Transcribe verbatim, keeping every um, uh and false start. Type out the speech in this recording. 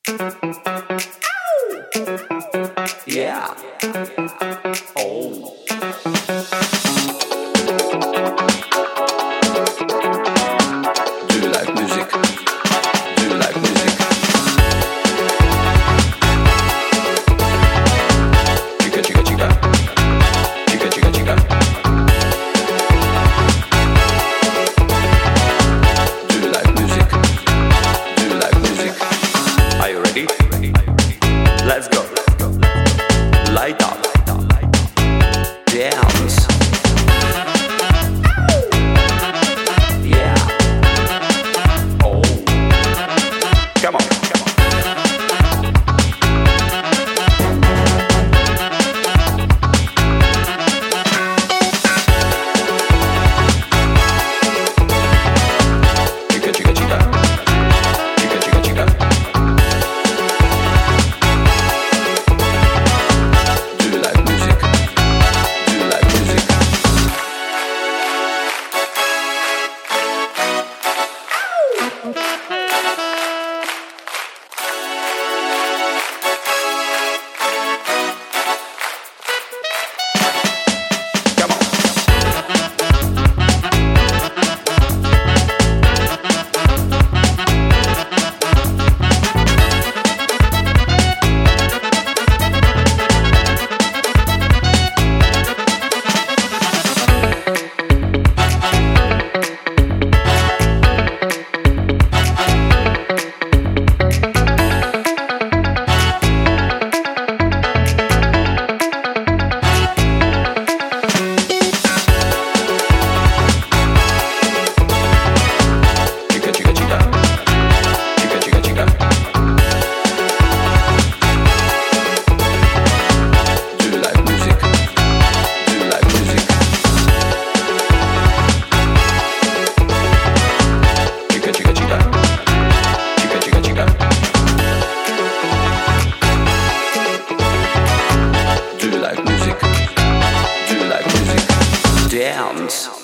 Yeah. Oh. Do you like music? Do you like music? Chica, chica, chica. Chica, chica, chica. Do you like music? Do you like music? Are you ready?